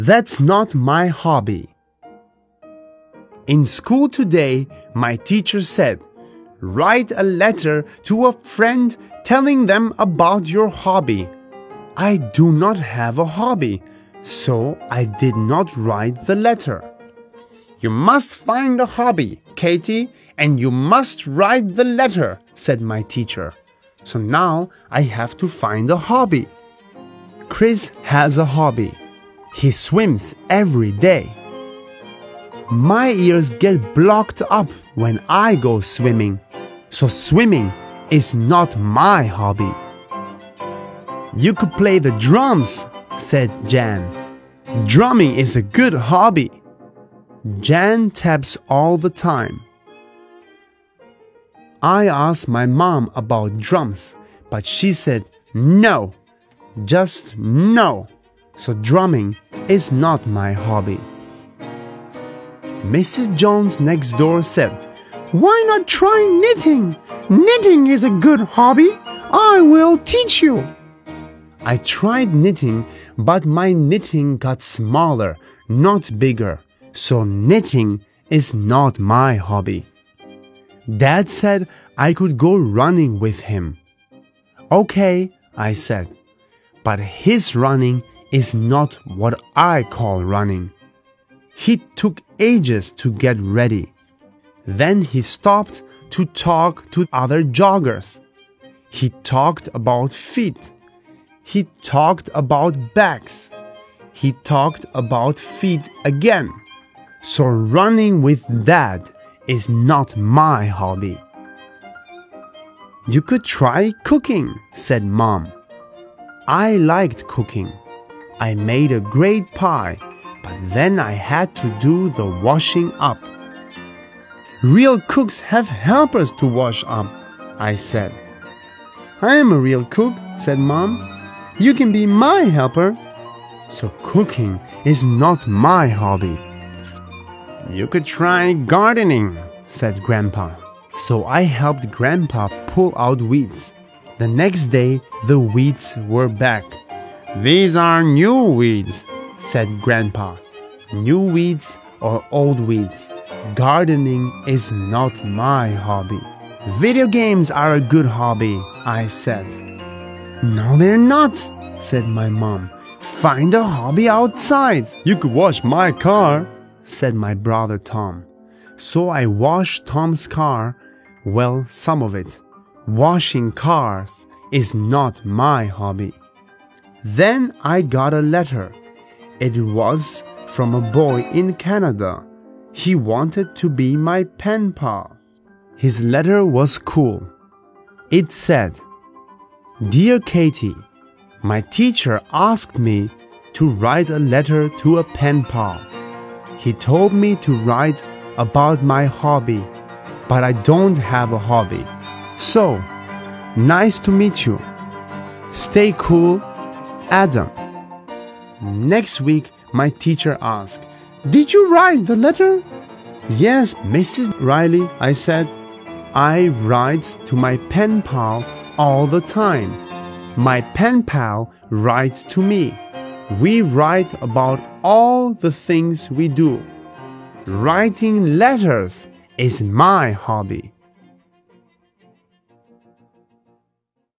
That's not my hobby. In school today, my teacher said, write a letter to a friend telling them about your hobby. I do not have a hobby, so I did not write the letter. You must find a hobby, Katie, and you must write the letter, said my teacher. So now I have to find a hobby. Chris has a hobby. He swims every day. My ears get blocked up when I go swimming, so swimming is not my hobby. You could play the drums, said Jan. Drumming is a good hobby. Jan taps all the time. I asked my mom about drums, but she said no, just no. So drumming is not my hobby. Mrs. Jones next door said, why not try knitting? Knitting is a good hobby. I will teach you. I tried knitting, but my knitting got smaller, not bigger. So knitting is not my hobby. Dad said I could go running with him. Okay, I said, but his running is not what I call running. He took ages to get ready. Then he stopped to talk to other joggers. He talked about feet. He talked about backs. He talked about feet again. So running with Dad is not my hobby. You could try cooking, said Mom. I liked cooking. I made a great pie, but then I had to do the washing up. Real cooks have helpers to wash up, I said. I am a real cook, said Mom. You can be my helper. So cooking is not my hobby. You could try gardening, said Grandpa. So I helped Grandpa pull out weeds. The next day, the weeds were back. These are new weeds, said Grandpa. New weeds or old weeds. Gardening is not my hobby. Video games are a good hobby, I said. No, they're not, said my mom. Find a hobby outside. You could wash my car, said my brother Tom. So I washed Tom's car. Well, some of it. Washing cars is not my hobby. Then I got a letter. It was from a boy in Canada. He wanted to be my pen pal. His letter was cool. It said, Dear Katie, my teacher asked me to write a letter to a pen pal. He told me to write about my hobby, but I don't have a hobby. So, nice to meet you. Stay cool, Adam. Next week, my teacher asked, Did you write the letter? Yes, Mrs. Riley, I said. I write to my pen pal all the time. My pen pal writes to me. We write about all the things we do. Writing letters is my hobby.